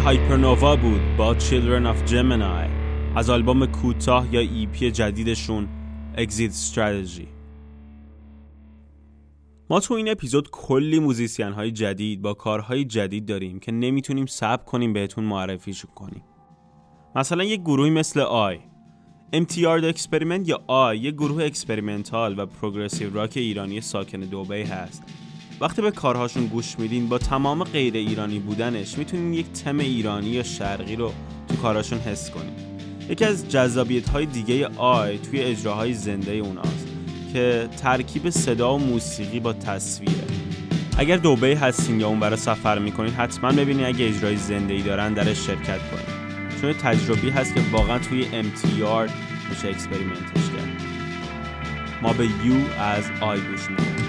هایپرنووا بود با Children of Gemini از آلبوم کوتاه یا ایپی جدیدشون Exit Strategy. ما تو این اپیزود کلی موزیسین های جدید با کارهای جدید داریم که نمیتونیم صبر کنیم بهتون معرفیشون کنیم. مثلا یک گروهی مثل آی MTR The Experiment یا آی، یک گروه اکسپریمنتال و پروگرسیو راک ایرانی ساکن دبی هست. وقتی به کارهاشون گوش میدین با تمام غیر ایرانی بودنش میتونین یک تم ایرانی یا شرقی رو تو کارهاشون حس کنین. یکی از جذابیت‌های دیگه آی توی اجراهای زنده اوناست که ترکیب صدا و موسیقی با تصویره. اگر دبی هستین یا اون برای سفر میکنین حتما ببینین اگه اجرای زنده‌ای دارن درش شرکت کنین، چون تجربی هست که واقعا توی MTR میشه اکسپریمنتش کرد. ما به یو از آی گوش میدیم.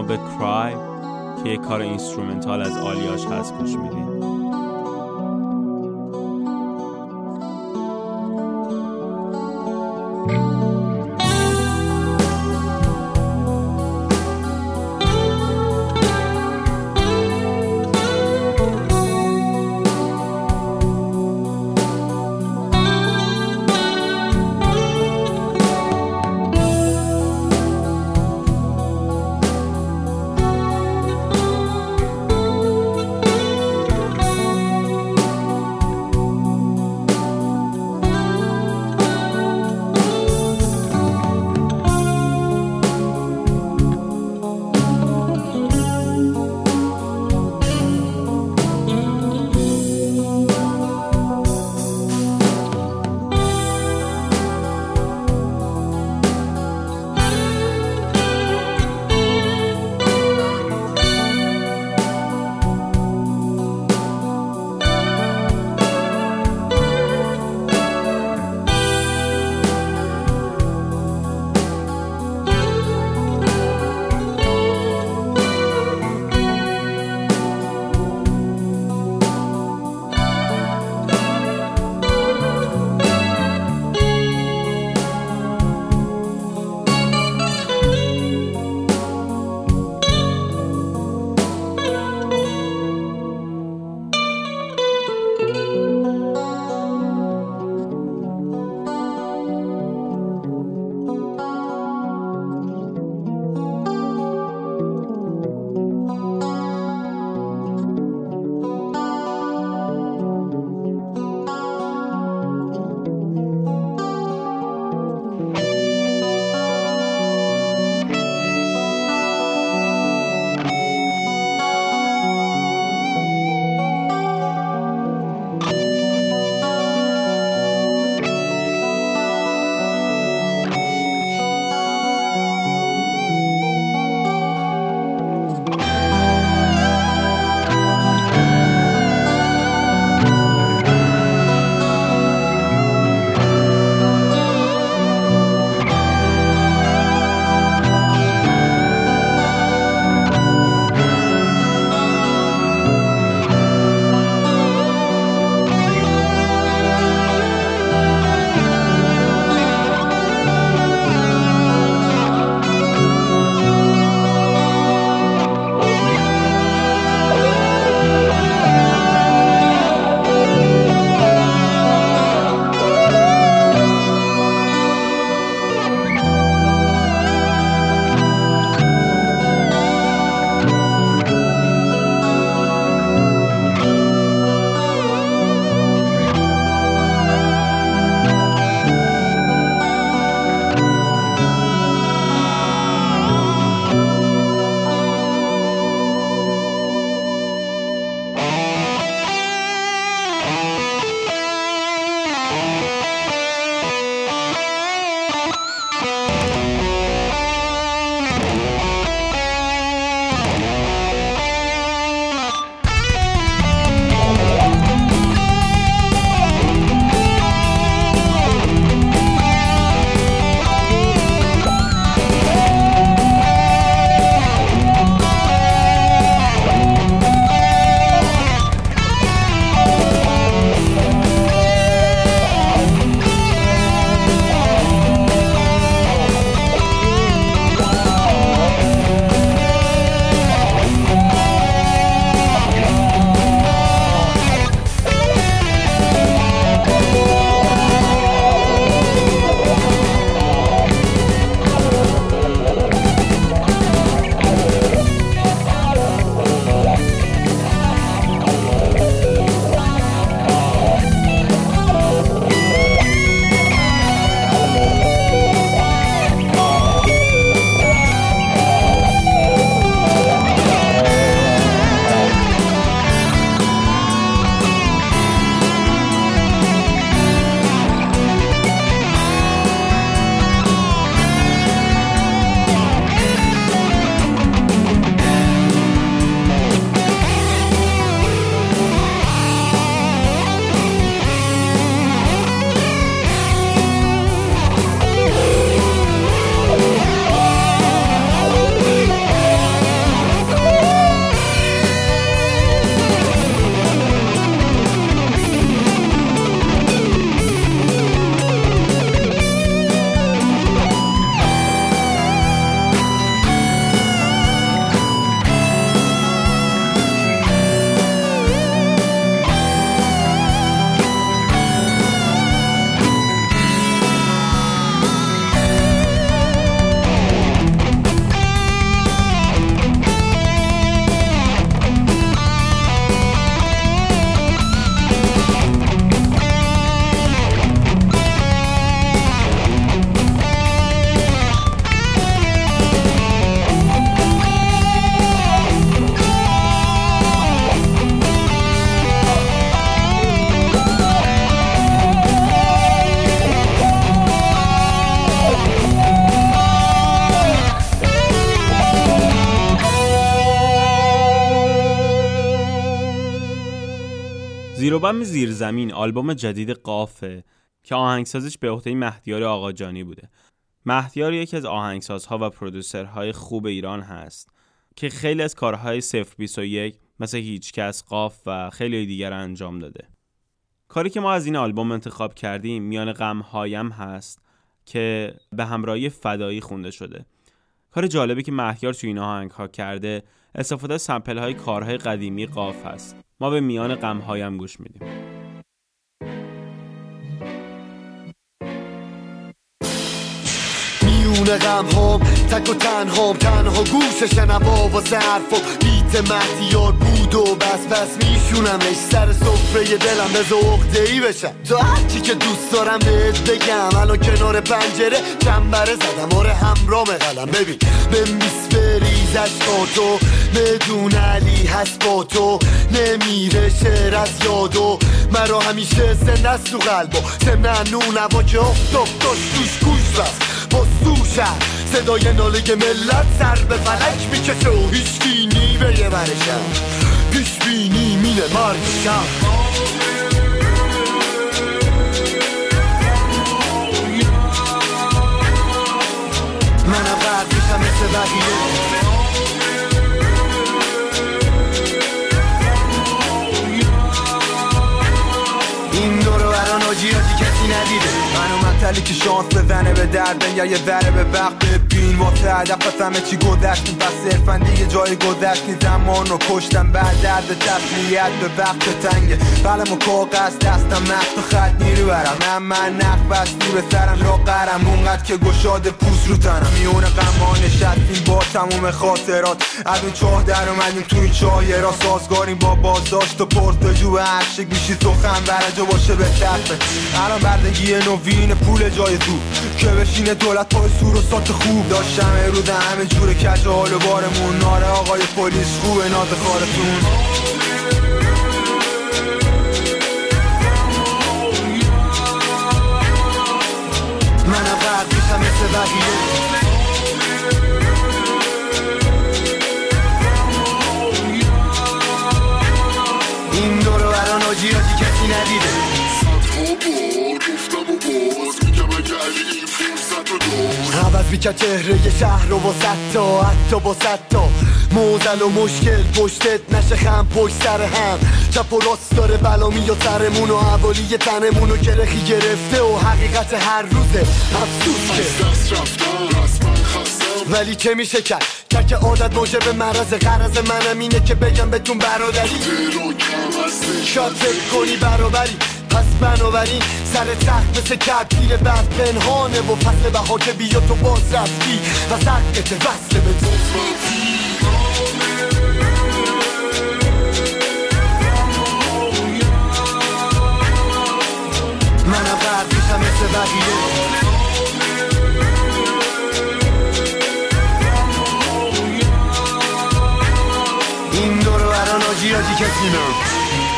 به کرای که یک کار اینسترومنتال از آلیاش هست گوش میدین. زیر و بم زیرزمین آلبوم جدید قافه که آهنگسازش به عهده مهدیار آقاجانی بوده. مهدیار یکی از آهنگسازها و پرودوسرهای خوب ایران هست که خیلی از کارهای 021 مثل هیچکس، قاف و خیلی دیگر انجام داده. کاری که ما از این آلبوم انتخاب کردیم میان غم‌هایم هست که به همراهی فدایی خونده شده. کار جالبی که مهیار تو این آهنگ‌ها کرده استفاده از سمپل‌های کارهای قدیمی قاف هست. ما به میان غم‌هایم گوش میدیم. میونه غم‌هام تک و تنها گوش شنوا و ظرف و بیت مهدیار بود و بس میشونمش سر سفره دلم به عقده‌ای بشم. تو هرچی که دوست دارم بهت بگم، الان کنار پنجره چنبره زدم، آره همرام قلم. ببین بمیس بریز عشقاتو، بدون علی هست با تو، نمیره شعر از یادو، مرا همیشه زنده است تو قلبو، سمنه نونوا که افتاب داشت توش گوش رفت با سوشم، صدای ناله ملت سر به فلک میکشه و هیچکی نیبه یه برشم، پیش بینی مینه مرگشم. منم غرق میشم مثل بقیه، این دورو برا ناجی کسی ندیده. منو مطلی که شانس بزنه به درد یا یه ذره به وقت ببین واسه هدف همه چی گذشتیم و صرفا دیگه جای گذشتیم، زمان رو کشتم بعد درد تسلیت به وقت تنگه، قلم و کاغذ دستم مخت و خط نیرو برم، من نخ بستی به سرم لاغرم اونقدر که گشاد پوست رو تنم، میونه غم‌ها نشستیم با تموم خاطرات، از اون چاه در اومدیم تو این چاه را سازگاریم با بازداشت و پرسجو عشق میشی سخن برجا باشه به طرفه. الان بردگی نوین پول جای تو که بشینه دولت پای سور و سات خوب، داشتم روز همه جور کج حال و بارمون، ناره آقای پلیس خوبه ناز خارتون. منم غرق میشم مثل بقیه، این دورو برا ناجی کسی ندیده. عوض بیکرد چهره ی شهر و ستا، حتی با ستا موزل و مشکل پشتت نشه خم پشت سر هم، چپ و راست داره بلا میاد سرمون و حوالی تنمون رو گرخی گرفته و حقیقت هر روزه افسوس که ولی چه میشه کرد که عادت موجب مرض غرض منم اینه که بگم بهتون برادری، شاید فکر کنی برابری پس بنابراین سر تخت مثل کبیر بعد پنهانه و فصل بها که بیا تو باز رفتی و سرکت وصل به تو. منم غرق میشم مثل بقیه، این دورو برا ناجی کسی نه.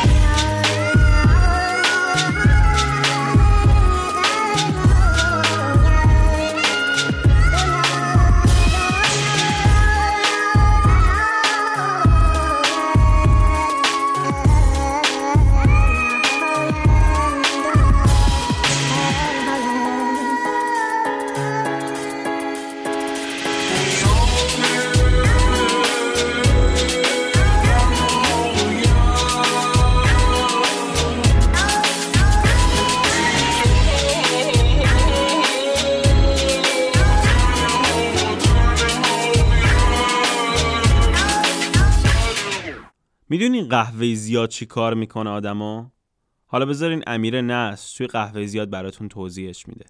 میدونین قهوه زیاد چی کار میکنه آدمو؟ حالا بذارین امیر نصر توی قهوه زیاد براتون توضیحش میده.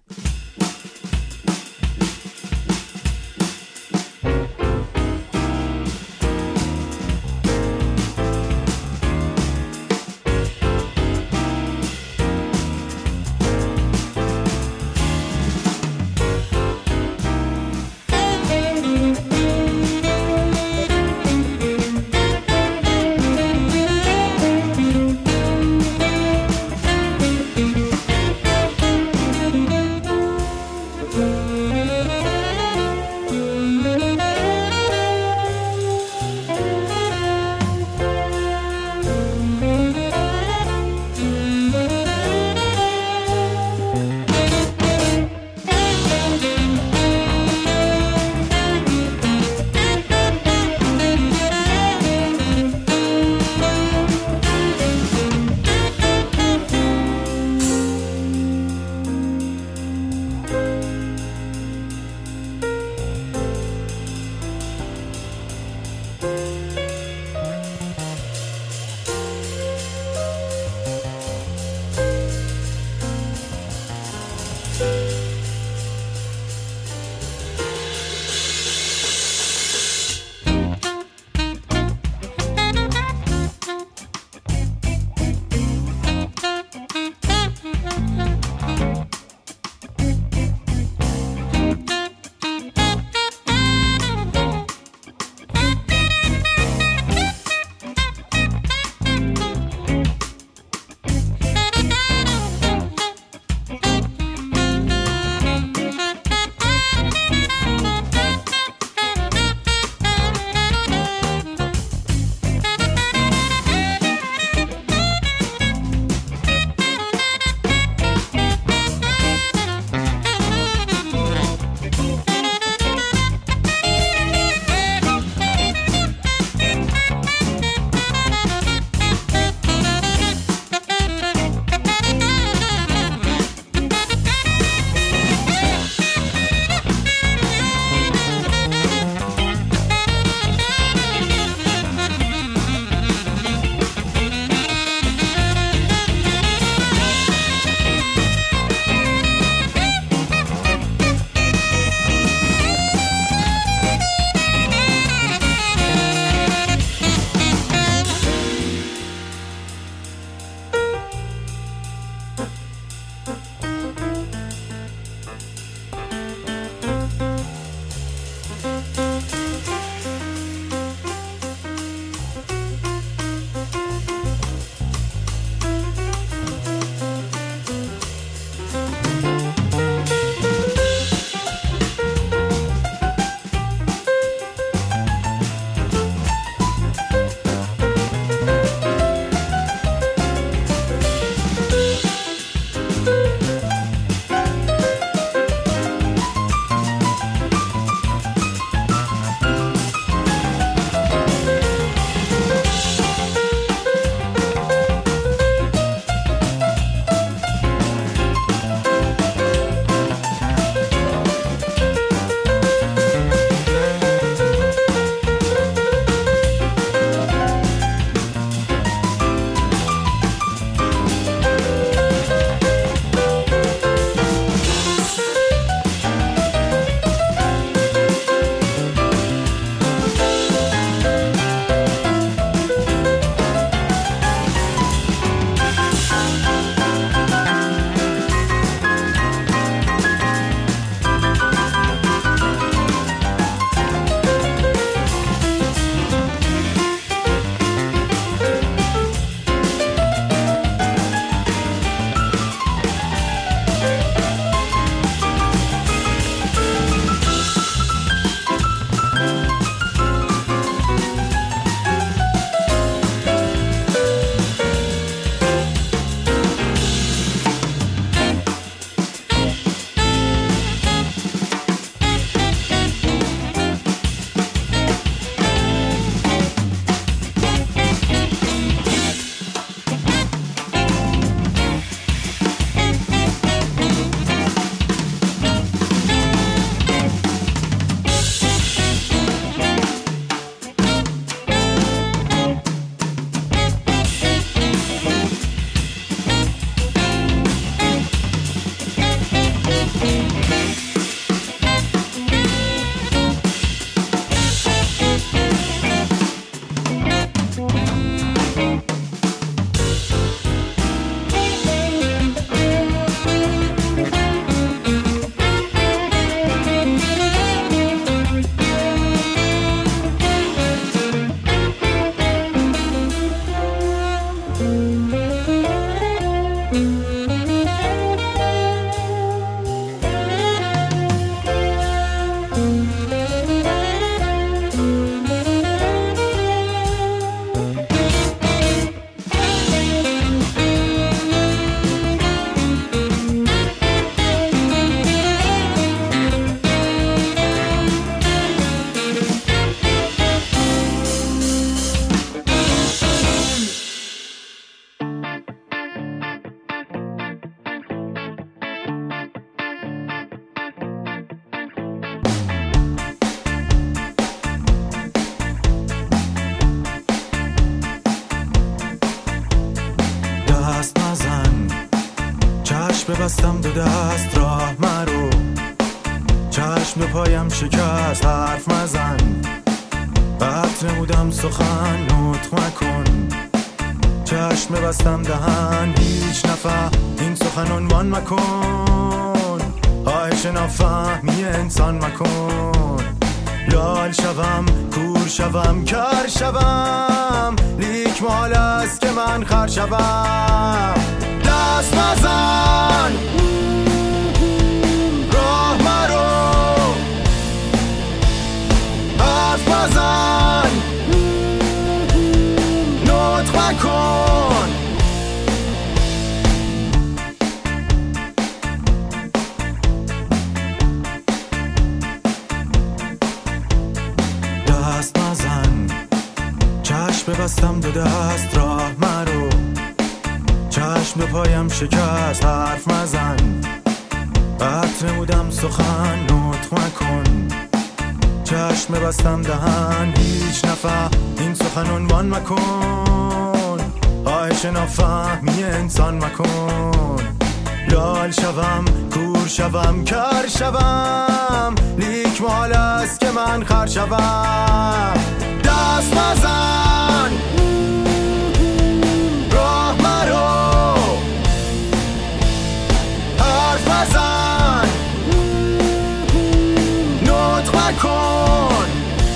چشم ببستم دو دست راه مرو، چشم دو پایم شکست حرف مزن، قط نمودم سخن نطق مکن، چشم ببستم دهن هیچ نفهم این سخن عنوان مکن، خواهش نافهمی انسان مکن، لال شوم کور شوم کر شوم، لیک محال است که من خر شوم، دست مزن راه مرو، حرف مزن نطق مکن، دست مزن، چشم ببستم دو دست راه مرو، چشم دو پایم شکست حرف مزن، قط نمودم سخن نطق مکن، چشم ببستم دهن هیچ نفهم این سخن عنوان مکن، خواهش نافهمی انسان مکن، لال شوم کور شوم کر شوم، لیک محال است که من خر شوم، دست مزن راه مرو، حرف مزن نطق مکن،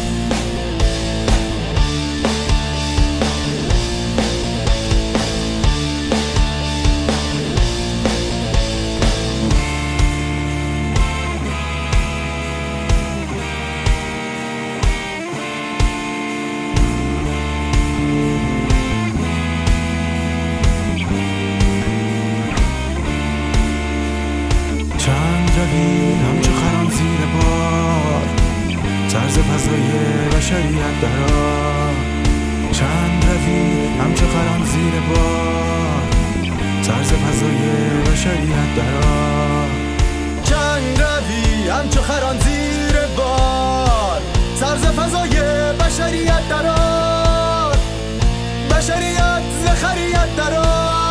همچو خران زیر بار، طرز فضای بشریت درا، چند روی همچو خران زیر بار، طرز فضای بشریت درا، چند روی همچو خران زیر بار، طرز فضای بشریت درا، بشریت زخریت درا،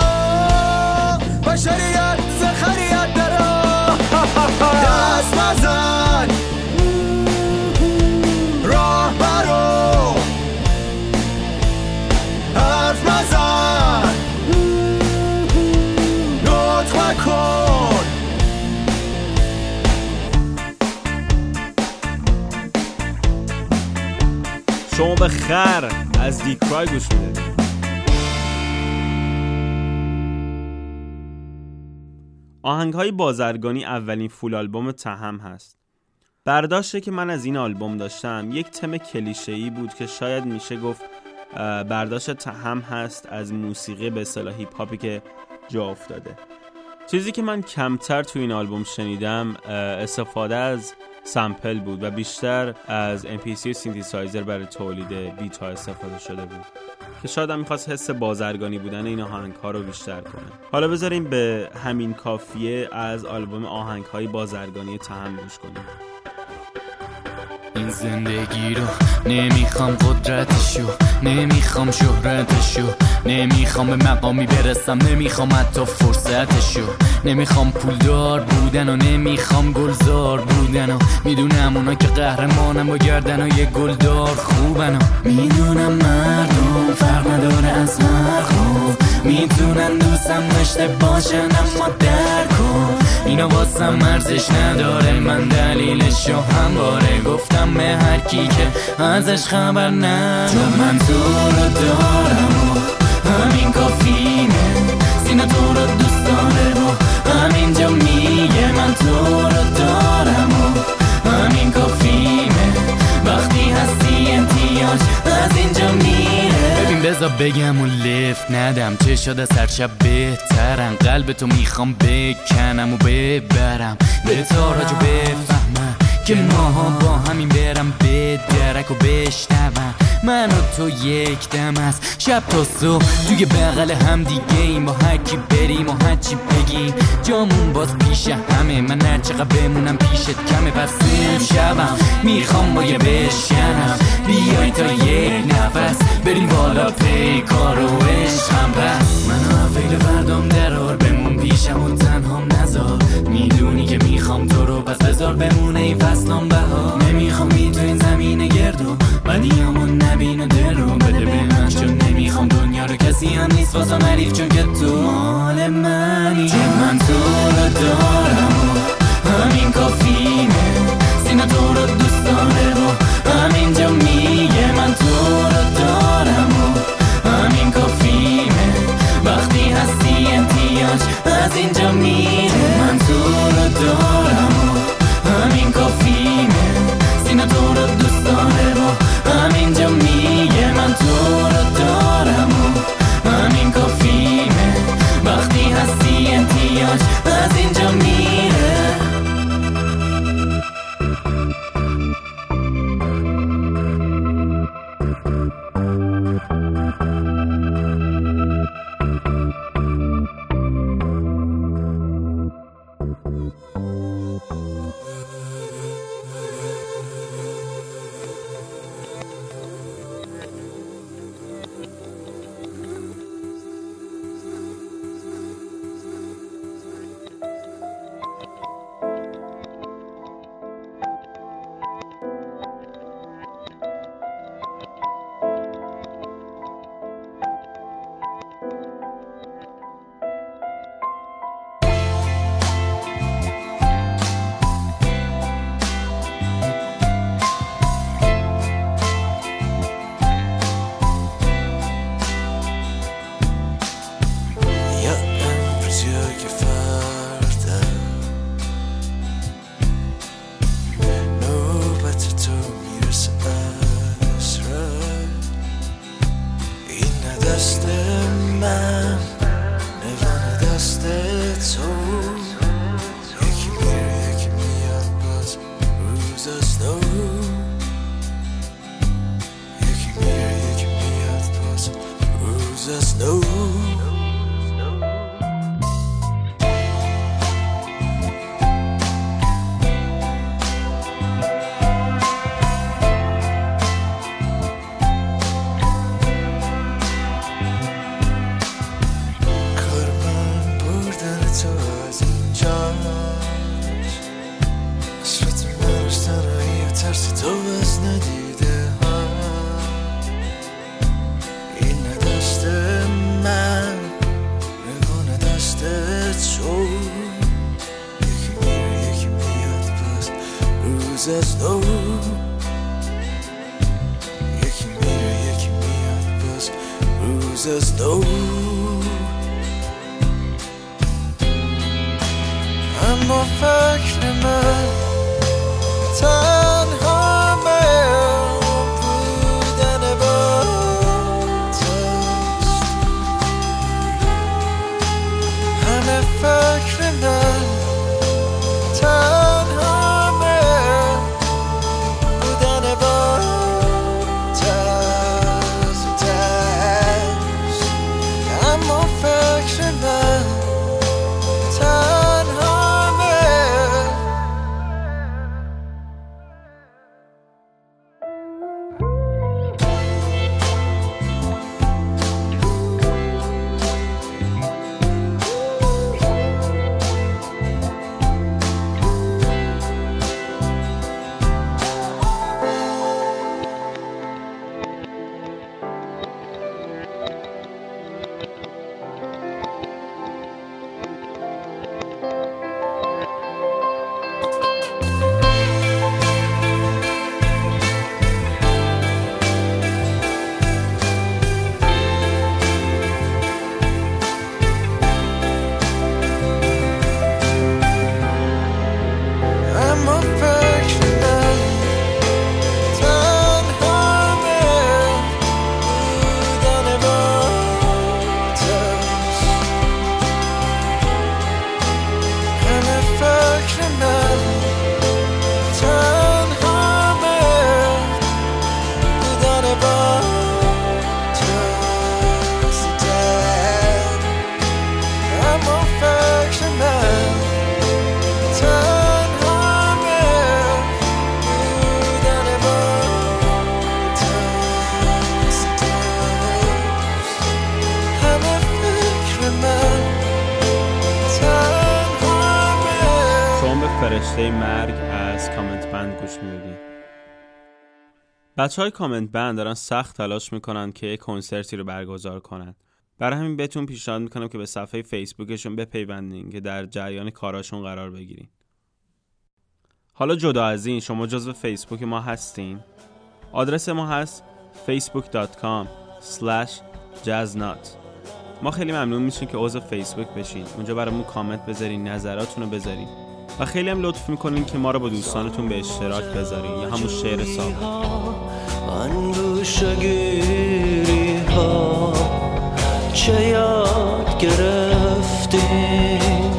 بشریت زخریت درا، دست مزن راه برو، حرف مزن نطق مکن، شما به خر از دیکرای گوش میدید. آهنگ‌های بازرگانی اولین فول آلبوم تهم هست. برداشتی که من از این آلبوم داشتم یک تم کلیشه‌ای بود که شاید میشه گفت برداشت تهم هست از موسیقی به اصطلاح هیپ هاپی که جا افتاده. چیزی که من کمتر تو این آلبوم شنیدم استفاده از سامپل بود و بیشتر از MPC و سینتیسایزر برای تولید بیت ها استفاده شده بود که شاید هم میخواست حس بازرگانی بودن این آهنگ ها رو بیشتر کنه. حالا بذاریم به همین کافیه از آلبوم آهنگ های بازرگانی تهم گوش کنیم. این زندگی رو نمیخوام قدرتشو، نمیخوام شهرتشو، نمیخوام به مقامی برسم، نمیخوام حتی فرصتشو، نمیخوام پولدار بودن و نمیخوام گلزار بودن و میدونم اونا که قهرمانم با گردن و یه گلدار خوبن و میدونم مردم فرق نداره از هر خوب، میتونن دوستم داشته باشن اما درکن اینا واسم ارزش نداره، من دلیلشو همواره گفتم به هر کی که ازش خبر نداره، چون من تو رو دارم و همین کافیه، سینه تو رو دوست داره و همینجا میگه من تو رو دارم و همین کافیه، وقتی هستی امتیاز از اینجا میره. ببین بذار بگم و لفت ندم، چه شده سرشب بهترم، قلب تو میخوام بکنم و ببرم به تاراج و بفهمم که ماها با همین برم به درک و بشنوم من و تو یک دم است شب تا صبح توی بغل هم دیگه ایم، با هر کی بریم و هر چی بگیم جامون باز پیش همه، من هر چقدر بمونم پیشت کمه، پس شبم میخوام با یه بشکنم، بیای تا یک نفس بریم بالا پیکار و عشقم، پس منو فکر فردام درار بمون پیشم و تنها نمیخوام نذار، میدونی که میخوام تو رو، پس بذار بمونه این فصلام بهار. نمیخوام بی تو این زمین گردو، بدیامون نبینه دل رو، بده به من چون نمیخوام دنیا رو، کسی هم نیست واسم حریف چون که تو مال منی. چون من تو رو دارم و همین کافیمه، سینه تو رو دوست داره و همینجا میگه من تو رو دارم و همین کافیمه، وقتی هستی امتیاج از اینجا میره. من تو رو دارم و همین کافیمه، سینه تو رو دوست داره و همینجا میگه من تو رو دارم و همین کافیمه، وقتی هستی امتیاج از اینجا میره. اما فکر من تنها بودن با توست، همه فکر من تنها بودن با توست، اما فکر من تنها فرشته مرگ از کامنت بند گوش میدید. بچهای کامنت بند دارن سخت تلاش میکنن که یک کنسرتی رو برگزار کنن. برای همین بهتون پیشنهاد میکنم که به صفحه فیسبوکشون بپیوندین که در جریان کاراشون قرار بگیرین. حالا جدا از این، شما جزو فیسبوک ما هستین؟ آدرس ما هست facebook.com/jazznut. ما خیلی ممنون میشیم که عضو فیسبوک بشین. اونجا برامون کامنت بذارین، نظراتتون رو بذارین و خیلی هم لطف میکنین که ما رو با دوستانتون به اشتراک بذارین یا همون شعر ثابت. اندوشگیری ها چه یاد گرفتیم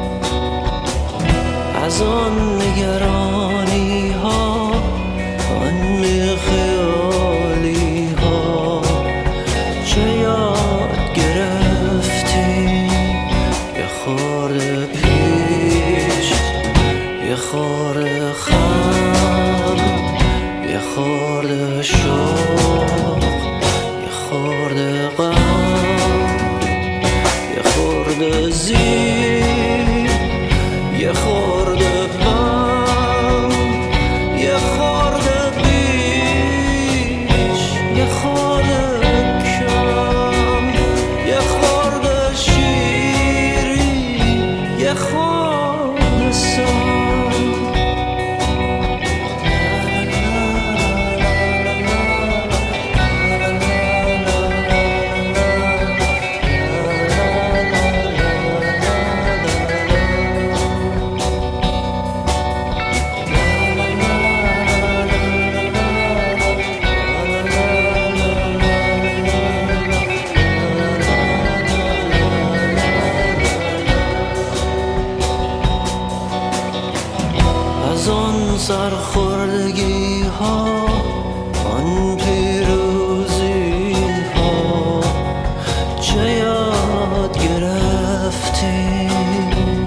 از آن نگرانی ها، آن خیالی ها چه یاد گرفتیم. یه خورده پیش، یه خورده خم، یه خورده شوق، یه خورده غم، یه خورده زیر، یه خورده بم، یه خورده بیش، یه خورده کم، یه خورده شیرین، یه خورده سم. از آن سرخوردگی ها، آن پیروزی ها چه یاد گرفتیم.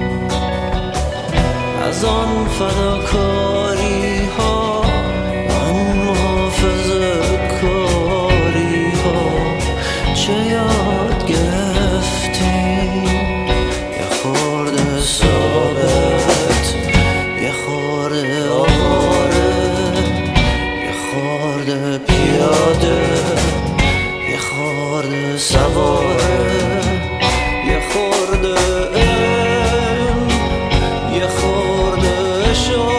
از آن فداکاری ها، آن محافظه کاری ها چه یاد گرفتیم. یه خورده ثابت، یه خورده آواره، یه خورده پیاده، یه خورده سواره، یه خورده علم، یه خورده شو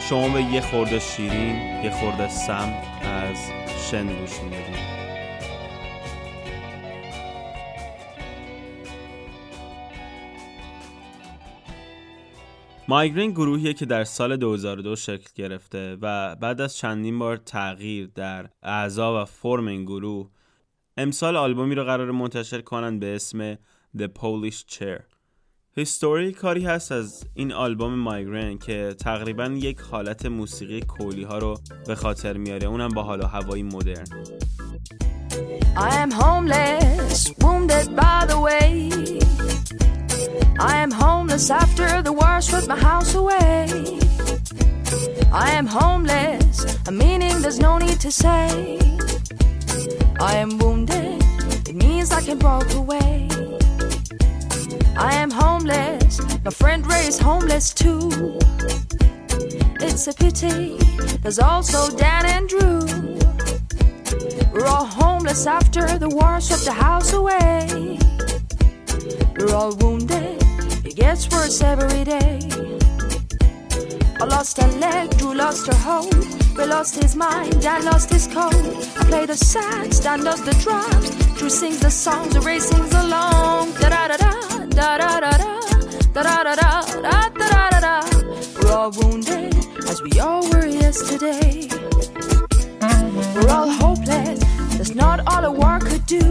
شما به یه خورده شیرین، یه خورده سم از شن گوش میدید. مایگرین گروهیه که در سال 2002 شکل گرفته و بعد از چندین بار تغییر در اعضا و فرم این گروه امسال آلبومی رو قرار منتشر کنن به اسم The Polish Chair. هیستوری کاری هست از این آلبوم مایگرین که تقریبا یک حالت موسیقی کولی ها رو به خاطر میاره، اونم با حال و هوایی مدرن. I am homeless, wounded by the way. I am homeless after the war swept my house away. I am homeless, a meaning there's no need to say. I am wounded, it means I can walk away. I am homeless, my friend Ray is homeless too. It's a pity, there's also Dan and Drew. We're all homeless after the war swept the house away. We're all wounded, it gets worse every day. I lost a leg, Drew lost her hope. Ray lost his mind, Dan lost his code. I play the sax, Dan does the drums. Drew sings the songs, Ray sings along. Da-da-da-da, da-da-da-da, da-da-da-da, da-da-da-da. We're all wounded, as we all were yesterday. We're all hopeless, that's not all a war could do.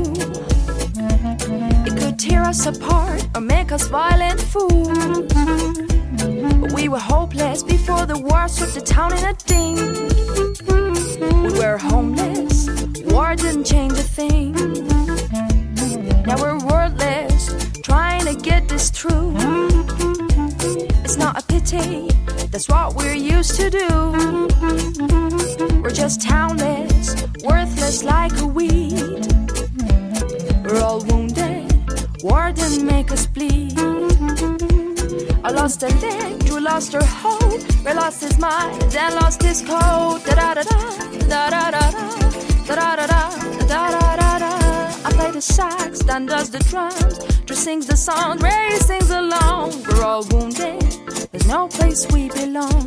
It could tear us apart or make us violent fools. But we were hopeless before the war swept the town in a ding. We were homeless, war didn't change a thing. Now we're wordless, trying to get this through. It's not a pity, that's what we're used to do. We're just townless, worthless like a weed. We're all wounded, war didn't make us bleed. I lost a leg, Drew lost her hope. Ray lost his mind, Dan lost his code. Da-da-da-da, da-da-da-da, da-da-da-da, da-da-da-da. I play the sax, Dan does the drums. Drew sings the songs, Ray sings along. We're all wounded, there's no place we belong.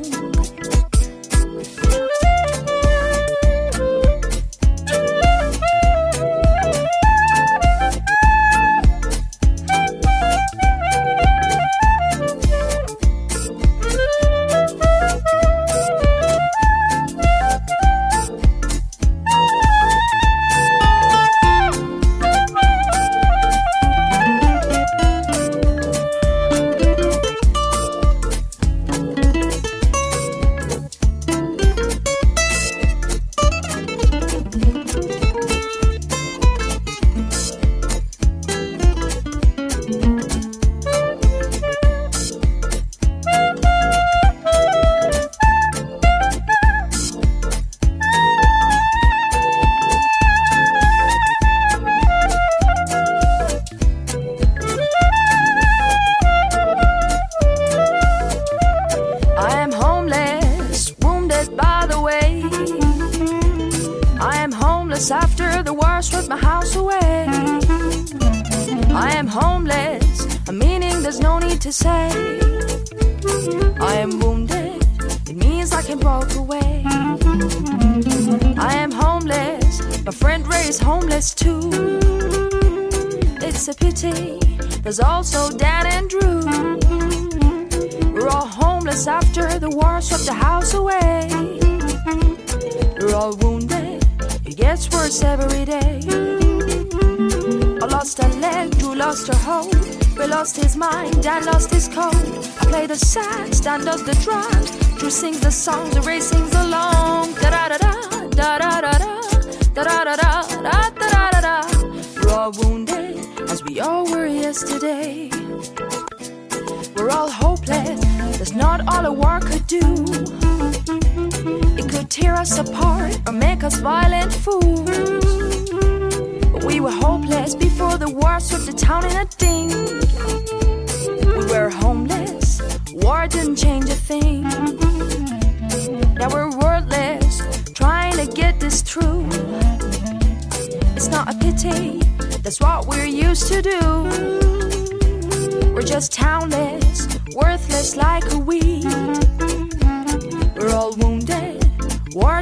After the war swept my house away. I am homeless, a meaning there's no need to say. I am wounded, it means I can walk away. I am homeless, my friend Ray is homeless too. It's a pity, there's also Dan and Drew. We're all homeless after the war swept the house away. We're all wounded, it gets worse every day. I lost a leg, Drew lost her hope. Ray lost his mind, Dan lost his code. I play the sax, Dan does the drums. Drew sings the songs, Ray sings along. Da-da-da-da, da-da-da-da, da-da-da-da, da-da-da-da. We're all wounded, as we all were yesterday. We're all hopeless, that's not all a war could do. It could tear us apart or make us violent fools. But we were hopeless before the war swept the town in a ding. We were homeless, war didn't change a thing. Now we're wordless, trying to get this through. It's not a pity, that's what we're used to do. We're just townless, worthless like a weed. We're all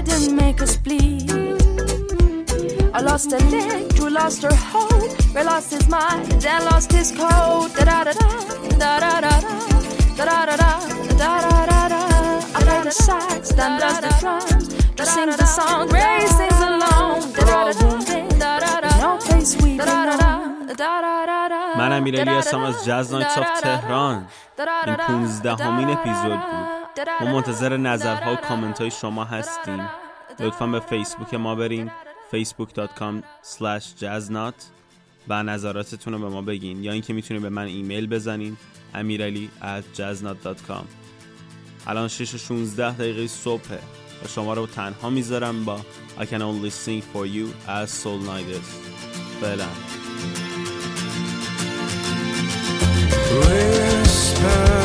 didn't make us bleed. I lost a leg, Drew lost her hope, Ray lost his mind, Dan lost his code. Da da da da da da da da da da da da da da. I play the sax, Dan does the drums, Drew sings the song, Ray sings along. Da da da da da. No place we belong. من امیرعلی هستم از جاز نایتس آف تهران. این 15مین اپیزود بود. ما منتظر نظرها و کامنت های شما هستیم. لطفاً به فیسبوک ما برین facebook.com/jazznot و نظراتتون رو به ما بگین، یا اینکه میتونید به من ایمیل بزنین amirali@jazznot.com. الان 6:16 صبحه و شما رو تنها میذارم با I Can Only Sing For You as Soul Niders. فعلا. Whisper